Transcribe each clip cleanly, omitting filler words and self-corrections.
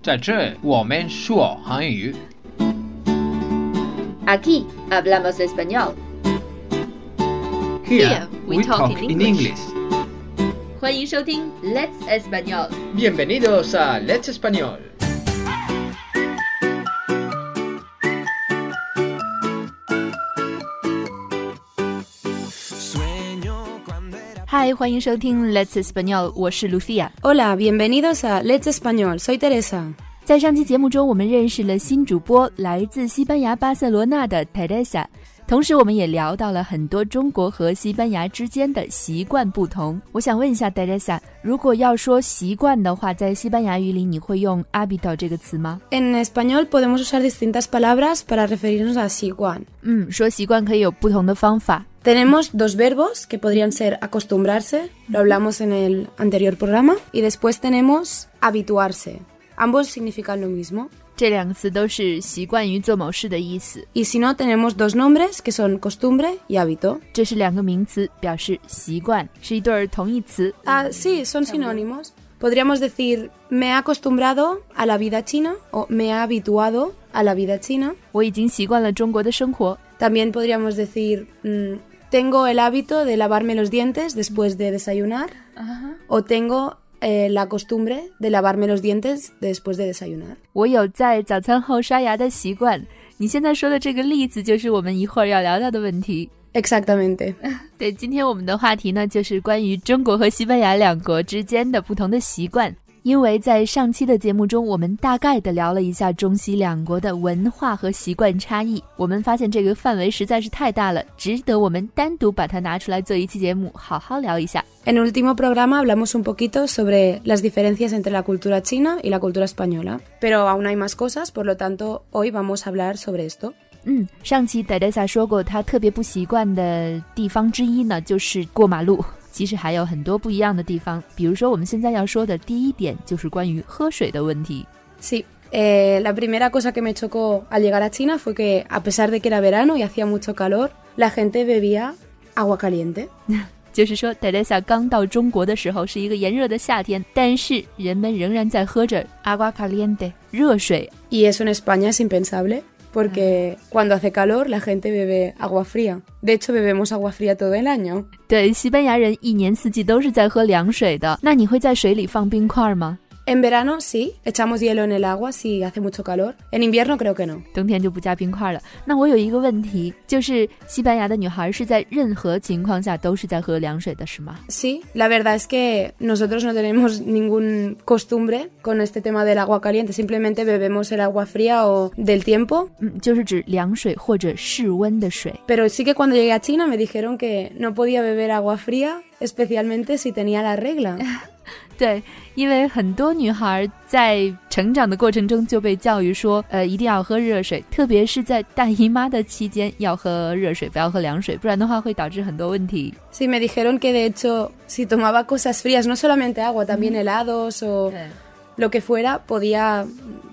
在这我们说韩语。 Aquí hablamos español. Here we talk in English. 欢迎收听 Let's Español. Bienvenidos a Let's Español. 嗨，欢迎收听 Let's Español， 我是 Lucia。Hola, bienvenidos a Let's Español, soy Teresa。 在上期节目中，我们认识了新主播来自西班牙巴塞罗那的 Teresa， 同时我们也聊到了很多中国和西班牙之间的习惯不同。我想问一下 Teresa， 如果要说习惯的话，在西班牙语里你会用 hábito 这个词吗？ En español podemos usar distintas palabras para referirnos a 习惯。 说习惯可以有不同的方法。 Tenemos dos verbos que podrían ser acostumbrarse, lo hablamos en el anterior programa, y después tenemos habituarse.Ambos significan lo mismo. 这两个词都是习惯于做某事的意思。 Y si no, tenemos dos nombres que son costumbre y hábito. 这是两个名词，表示习惯，是一对同义词。 Sí, son sinónimos. Podríamos decir, me he acostumbrado a la vida china o me he habituado a la vida china. 我已经习惯了中国的生活。 También podríamos decir, tengo el hábito de lavarme los dientes después de desayunar. O tengo...la costumbre de lavarme los dientes después de desayunar. 我有在早餐后刷牙的习惯。你现在说的这个例子就是我们一会儿要聊到的问题。 Exactamente. 对，今天我们的话题呢，就是关于中国和西班牙两国之间的不同的习惯。因为在上期的节目中，我们大概的聊了一下中西两国的文化和习惯差异，我们发现这个范围实在是太大了，值得我们单独把它拿出来做一期节目，好好聊一下。 En el último programa hablamos un poquito sobre las diferencias entre la cultura china y la cultura española, pero aún hay más cosas, por lo tanto, hoy vamos a hablar sobre esto. 上期 Teresa 说过，她特别不习惯的地方之一呢，就是过马路。其实还有很多不一样的地方，比如说我们现在要说的第一点就是关于喝水的问题。 Sí, la primera cosa que me chocó al llegar a China fue que a pesar de que era verano y hacía mucho calor, la gente bebía agua caliente. 就是说 Teresa 刚到中国的时候是一个炎热的夏天，但是人们仍然在喝着 agua caliente 热水。 Y eso en España es impensable.Porque cuando hace calor la gente bebe agua fría. De hecho, bebemos agua fría todo el año. 对，西班牙人一年四季都是在喝凉水的。那你会在水里放冰块吗？ En verano sí, echamos hielo en el agua si hace mucho calor. En invierno creo que no. 冬天就不加冰块了。那我有一个问题，就是西班牙的女孩是在任何情况下都是在喝凉水的，是吗？ Sí, la verdad es que nosotros no tenemos ningún costumbre con este tema del agua caliente. Simplemente bebemos el agua fría o del tiempo. 就是指凉水或者室温的水。 Pero sí que cuando llegué a China me dijeron que no podía beber agua fría, especialmente si tenía la regla. 对，因为很多女孩在成长的过程中就被教育说，一定要喝热水，特别是在大姨妈的期间要喝热水，不要喝凉水，不然的话会导致很多问题。 Sí, me dijeron que de hecho si tomaba cosas frías, no solamente agua, también helados o lo que fuera, podía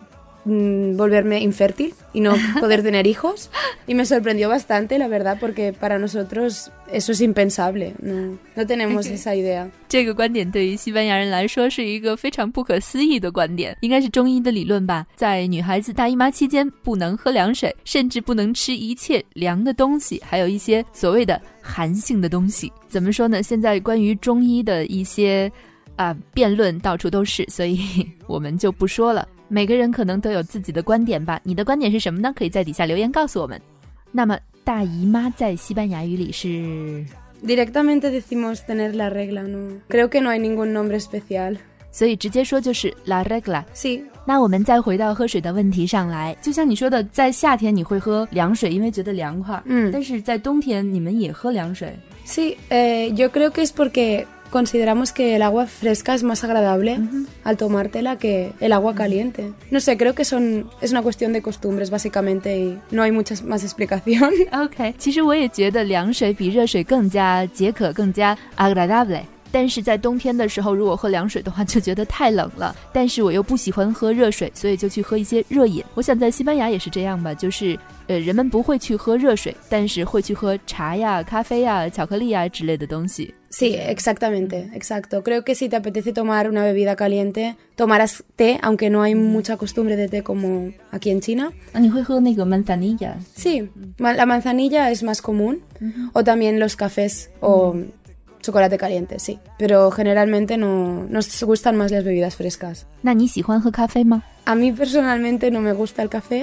volverme infértil y no poder tener hijos. Y me sorprendió bastante, la verdad, porque para nosotros eso es impensable. No tenemos esa idea. 这个观点对于西班牙人来说是一个非常不可思议的观点，应该是中医的理论吧。在女孩子大姨妈期间不能喝凉水，甚至不能吃一切凉的东西，还有一些所谓的寒性的东西。怎么说呢？现在关于中医的一些辩论到处都是，所以我们就不说了。每个人可能都有自己的观点吧，你的观点是什么呢？可以在底下留言告诉我们。那么大姨妈在西班牙语里是 Directamente decimos tener la regla, no. Creo que no hay ningún nombre especial. 所以直接说就是 la regla。 Sí. 那我们再回到喝水的问题上来，就像你说的，在夏天你会喝凉水，因为觉得凉快。但是在冬天你们也喝凉水。 Sí, yo creo que es porque...Consideramos que el agua fresca es más agradable al tomártela que el agua caliente. No sé, creo que es una cuestión de costumbres básicamente y no hay mucha más explicación. OK， 其实我也觉得凉水比热水更加解渴，更加 agradable。 但是在冬天的时候如果喝凉水的话就觉得太冷了，但是我又不喜欢喝热水，所以就去喝一些热饮。我想在西班牙也是这样吧，就是人们不会去喝热水，但是会去喝茶呀、咖啡呀、巧克力呀之类的东西。 Sí, exactamente, exacto. Creo que si te apetece tomar una bebida caliente, tomarás té, aunque no hay mucha costumbre de té como aquí en China. 你会喝那个 manzanilla? Sí, la manzanilla es más común, o también los cafés o chocolate caliente, sí. Pero generalmente nos gustan más las bebidas frescas. 那你喜欢喝咖啡吗？ A mí personalmente no me gusta el café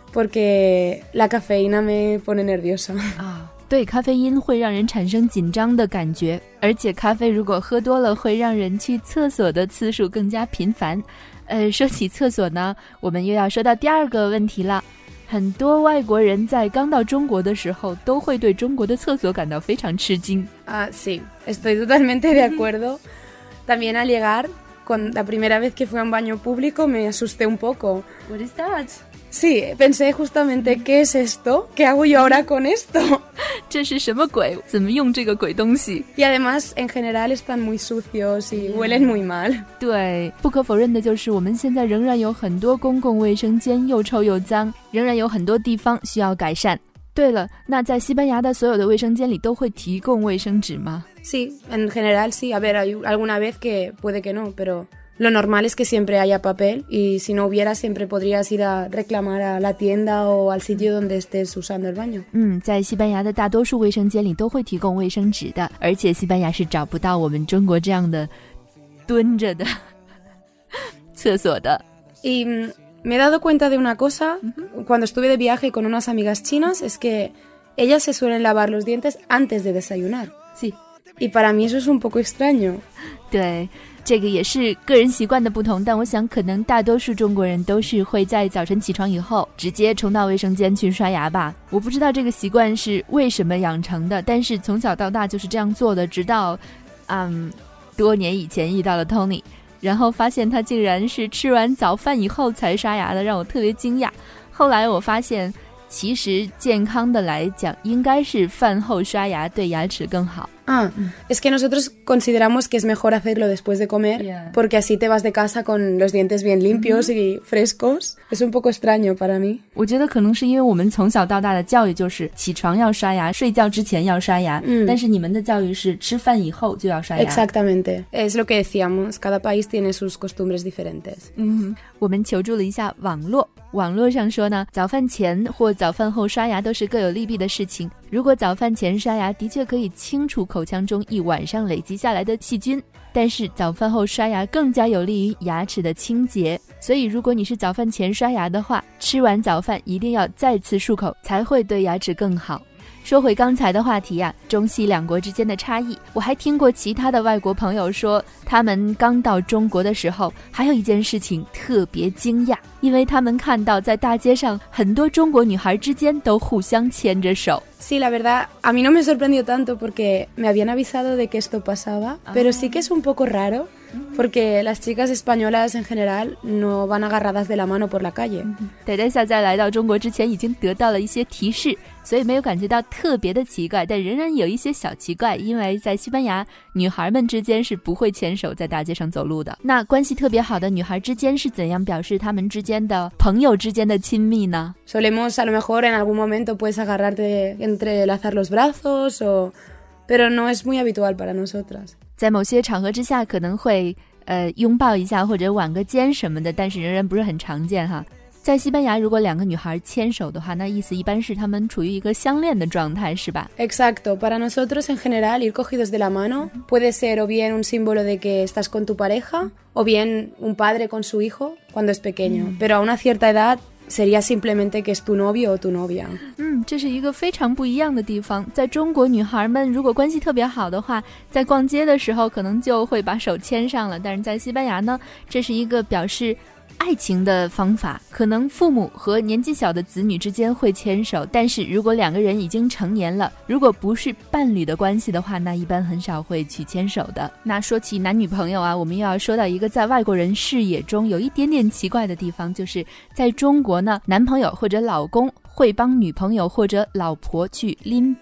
porque la cafeína me pone nerviosa. 对，咖啡因会让人产生紧张的感觉，而且咖啡如果喝多了会让人去厕所的次数更加频繁。说起厕所呢，我们又要说到第二个问题了。很多外国人在刚到中国的时候都会对中国的厕所感到非常吃惊。 Sí, estoy totalmente de acuerdo. También al llegar, la primera vez que fui a un baño público me asusté un poco. What is that? Sí, pensé justamente, ¿qué es esto? ¿Qué hago yo ahora con esto? 这是什么鬼？怎么用这个鬼东西？ Y además, en general, están muy sucios y huelen muy mal. 对，不可否认的就是我们现在仍然有很多公共卫生间又臭又脏，仍然有很多地方需要改善。对了，那在西班牙的所有的卫生间里都会提供卫生纸吗？ Sí, en general sí. A ver, hay alguna vez que puede que no, pero lo normal es que siempre haya papel y si no hubiera siempre podrías ir a reclamar a la tienda o al sitio donde estés usando el baño. 在西班牙的大多数卫生间里都会提供卫生纸的，而且西班牙是找不到我们中国这样的蹲着的厕所的。 Y me he dado cuenta de una cosa cuando estuve de viaje con unas amigas chinas, es que ellas se suelen lavar los dientes antes de desayunar. Sí. Y para mí eso es un poco extraño. 对，这个也是个人习惯的不同，但我想可能大多数中国人都是会在早晨起床以后直接冲到卫生间去刷牙吧。我不知道这个习惯是为什么养成的，但是从小到大就是这样做的，直到多年以前遇到了 Tony， 然后发现他竟然是吃完早饭以后才刷牙的，让我特别惊讶。后来我发现其实健康的来讲应该是饭后刷牙对牙齿更好。 Es que nosotros consideramos que es mejor hacerlo después de comer, porque así te vas de casa con los dientes bien limpios y frescos. Es un poco extraño para mí. 我觉得可能是因为我们从小到大的教育就是起床要刷牙，睡觉之前要刷牙，但是你们的教育是吃饭以后就要刷牙。 Exactamente. Es lo que decíamos. Cada país tiene sus costumbres diferentes. 我们求助了一下网络，网络上说呢，早饭前或早饭后刷牙都是各有利弊的事情。如果早饭前刷牙的确可以清除口腔中一晚上累积下来的细菌，但是早饭后刷牙更加有利于牙齿的清洁，所以如果你是早饭前刷牙的话，吃完早饭一定要再次漱口，才会对牙齿更好。说回刚才的话题啊，中西两国之间的差异，我还听过其他的外国朋友说，他们刚到中国的时候还有一件事情特别惊讶，因为他们看到在大街上很多中国女孩之间都互相牵着手。 Sí, la verdad, a mí no me sorprendió tanto porque me habían avisado de que esto pasaba, pero sí que es un poco raro porque las chicas españolas en general no van agarradas de la mano por la calle. 戴戴夏在来到中国之前已经得到了一些提示，所以没有感觉到特别的奇怪，但仍然有一些小奇怪，因为在西班牙女孩们之间是不会牵手在大街上走路的。那关系特别好的女孩之间是怎样表示她们之间的朋友之间的亲密呢？ Solemos a lo mejor en algún momento puedes agarrarte, entrelazar los brazos, pero no es muy habitual para nosotras. 在某些场合之下可能会拥抱一下或者挽个肩什么的，但是仍然不是很常见哈。在西班牙如果两个女孩牵手的话，那意思一般是她们处于一个相恋的状态，是吧？ Exacto, para nosotros en general ir cogidos de la mano puede ser o bien un símbolo de que estás con tu pareja o bien un padre con su hijo cuando es pequeño, pero a una cierta edad sería simplemente que es tu novio o tu novia. 这是一个非常不一样的地方。在中国女孩们如果关系特别好的话，在逛街的时候可能就会把手牵上了，但是在西班牙呢，这是一个表示爱情的方法，可能父母和年纪小的子女之间会牵手，但是如果两个人已经成年了，如果不是伴侣的关系的话，那一般很少会去牵手的。那说起男女朋友啊，我们又要说到一个在外国人视野中有一点点奇怪的地方，就是在中国呢，男朋友或者老公会帮女朋友或者老婆去拎包。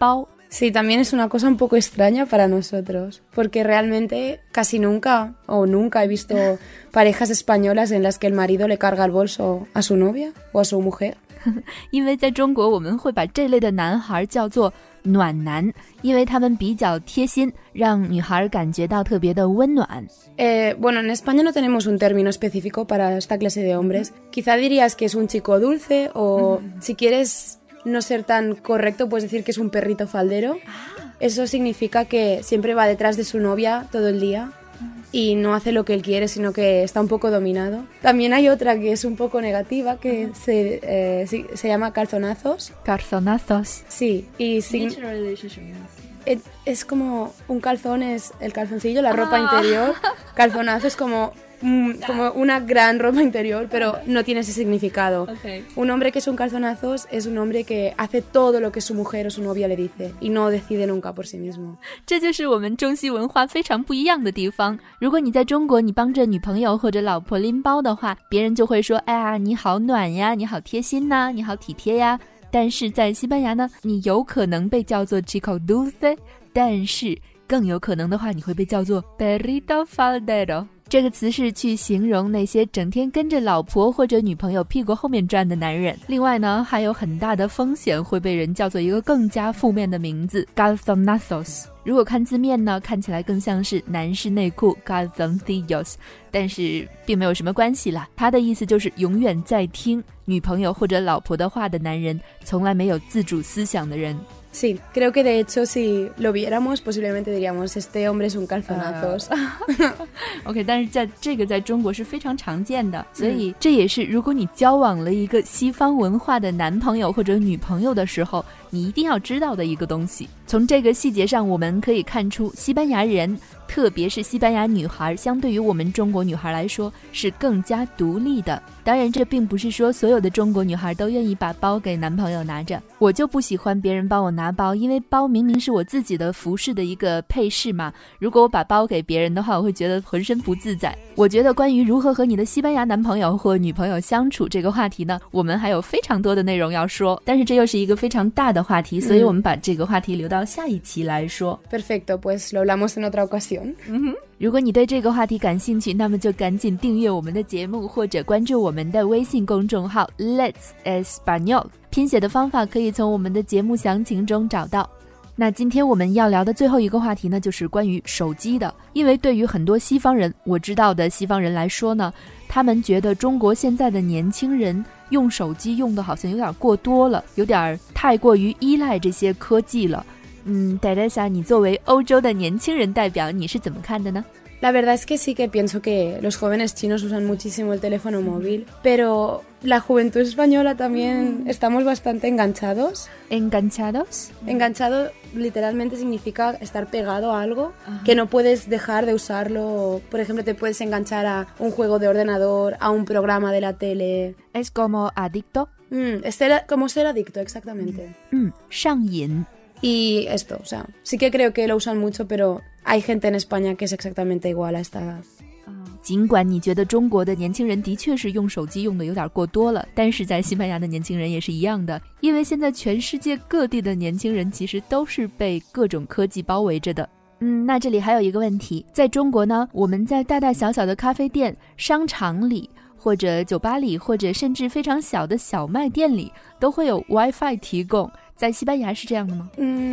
Sí, también es una cosa un poco extraña para nosotros, porque realmente casi nunca he visto parejas españolas en las que el marido le carga el bolso a su novia o a su mujer. 因为在中国我们会把这类的男孩叫做暖男，因为他们比较贴心，让女孩感觉到特别的温暖。 Bueno, en España no tenemos un término específico para esta clase de hombres. Quizá dirías que es un chico dulce o si quieres no ser tan correcto puedes decir que es un perrito faldero. Eso significa que siempre va detrás de su novia todo el día y no hace lo que él quiere, sino que está un poco dominado. También hay otra que es un poco negativa, que se llama calzonazos. Calzonazos. Sí, y es como un calzón es el calzoncillo, la ropa interior. Calzonazo es como una gran ropa interior, pero no tiene ese significado. Okay. Un hombre que es un calzonazos es un hombre que hace todo lo que su mujer o su novia le dice y no decide nunca por sí mismo. 这就是我们中西文化非常不一样的地方。如果你在中国你帮着女朋友或者老婆拎包的话，别人就会说，哎呀，你好暖呀，你好贴心呐，你好体贴呀。但是在西班牙呢，你有可能被叫做 chico dulce， 但是更有可能的话，你会被叫做 perrito faldero。这个词是去形容那些整天跟着老婆或者女朋友屁股后面转的男人。另外呢，还有很大的风险会被人叫做一个更加负面的名字 calzonazos。如果看字面呢，看起来更像是男士内裤 calzoncillos， 但是并没有什么关系啦。它的意思就是永远在听女朋友或者老婆的话的男人，从来没有自主思想的人。 Sí, creo que de hecho si lo viéramos posiblemente diríamos este hombre es un calzonazos. OK， 但是在中国是非常常见的，所以这也是如果你交往了一个西方文化的男朋友或者女朋友的时候，你一定要知道的一个东西。从这个细节上我们可以看出，西班牙人特别是西班牙女孩相对于我们中国女孩来说是更加独立的。当然这并不是说所有的中国女孩都愿意把包给男朋友拿着，我就不喜欢别人帮我拿包，因为包明明是我自己的服饰的一个配饰嘛，如果我把包给别人的话，我会觉得浑身不自在。我觉得关于如何和你的西班牙男朋友或女朋友相处这个话题呢，我们还有非常多的内容要说，但是这又是一个非常大的话题，所以我们把这个话题留到下一期来说。 Perfecto, pues lo hablamos en otra ocasión. 如果你对这个话题感兴趣，那么就赶紧订阅我们的节目，或者关注我们的微信公众号 Let's Español， 拼写的方法可以从我们的节目详情中找到。那今天我们要聊的最后一个话题呢，就是关于手机的。因为对于很多西方人，我知道的西方人来说呢，他们觉得中国现在的年轻人用手机用的好像有点过多了，有点太过于依赖这些科技了。Teresa， 你作为欧洲的年轻人代表，你是怎么看的呢？ La verdad es que sí que pienso que los jóvenes chinos usan muchísimo el teléfono móvil, pero la juventud española también estamos bastante enganchados. ¿Enganchados? Enganchado literalmente significa estar pegado a algo que no puedes dejar de usarlo. Por ejemplo, te puedes enganchar a un juego de ordenador, a un programa de la tele. ¿Es como adicto? Como ser adicto, exactamente. 上瘾。 Y esto, o sea, sí que creo que lo usan mucho, pero hay gente en España que es exactamente igual a esta edad. 尽管你觉得中国的年轻人的确是用手机用的有点过多了，但是在西班牙的年轻人也是一样的，因为现在全世界各地的年轻人其实都是被各种科技包围着的。那这里还有一个问题，在中国呢，我们在大大小小的咖啡店、商场里，或者酒吧里，或者甚至非常小的小卖店里，都会有 WiFi 提供。在西班牙是这样的吗？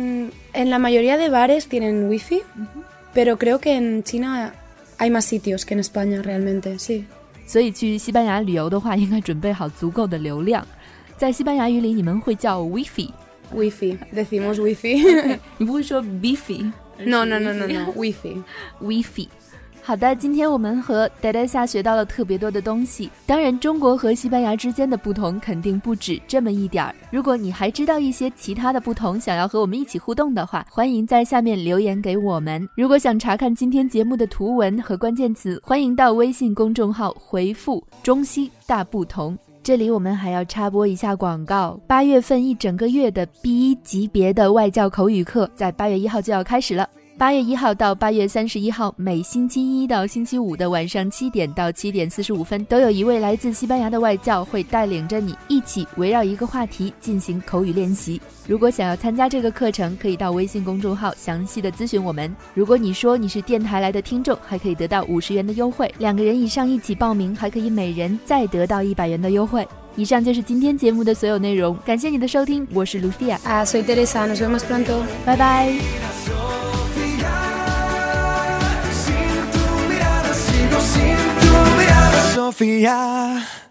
En la mayoría de bares tienen wifi, pero creo que en China hay más sitios que en España realmente, sí. 所以去西班牙旅游的话，应该准备好足够的流量。在西班牙语里，你们会叫 Wi-Fi。Wi-Fi, decimos Wi-Fi. 你不会说 Bifi？ No, Wi-Fi. Wi-Fi。好的，今天我们和 Teresa 学到了特别多的东西。当然，中国和西班牙之间的不同肯定不止这么一点儿。如果你还知道一些其他的不同，想要和我们一起互动的话，欢迎在下面留言给我们。如果想查看今天节目的图文和关键词，欢迎到微信公众号回复中西大不同。这里我们还要插播一下广告，8月份一整个月的 B1 级别的外教口语课在8月1号就要开始了。 8月1号到8月31号，每星期一到星期五的晚上7点到7点45分，都有一位来自西班牙的外教会带领着你一起围绕一个话题进行口语练习。如果想要参加这个课程，可以到微信公众号详细的咨询我们。如果你说你是电台来的听众，还可以得到50元的优惠，2个人以上一起报名，还可以每人再得到100元的优惠。以上就是今天节目的所有内容，感谢你的收听，我是 Lucia。 Soy Teresa, nos vemos pronto。 拜拜。 Sofía